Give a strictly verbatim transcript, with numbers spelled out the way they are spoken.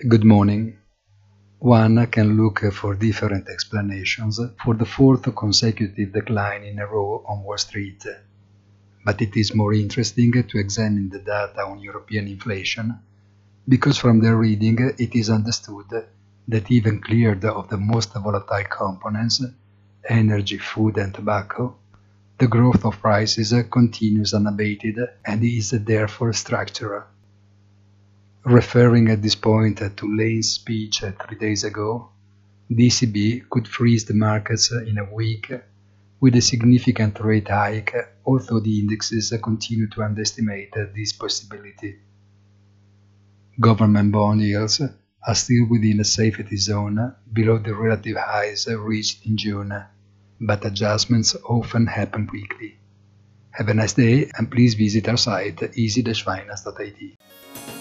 Good morning. One can look for different explanations for the fourth consecutive decline in a row on Wall Street, but it is more interesting to examine the data on European inflation, because from their reading it is understood that even cleared of the most volatile components, energy, food and tobacco, the growth of prices continues unabated and is therefore structural. Referring at this point to Lane's speech three days ago, the E C B could freeze the markets in a week with a significant rate hike, although the indexes continue to underestimate this possibility. Government bond yields are still within a safety zone below the relative highs reached in June, but adjustments often happen quickly. Have a nice day and please visit our site easy dash finance dot I T.